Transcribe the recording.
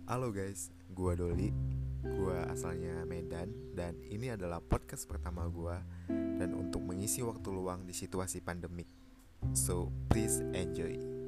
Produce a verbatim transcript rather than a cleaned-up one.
Halo guys, gua Doli. Gua asalnya Medan dan ini adalah podcast pertama gua dan untuk mengisi waktu luang di situasi pandemik. So, please enjoy.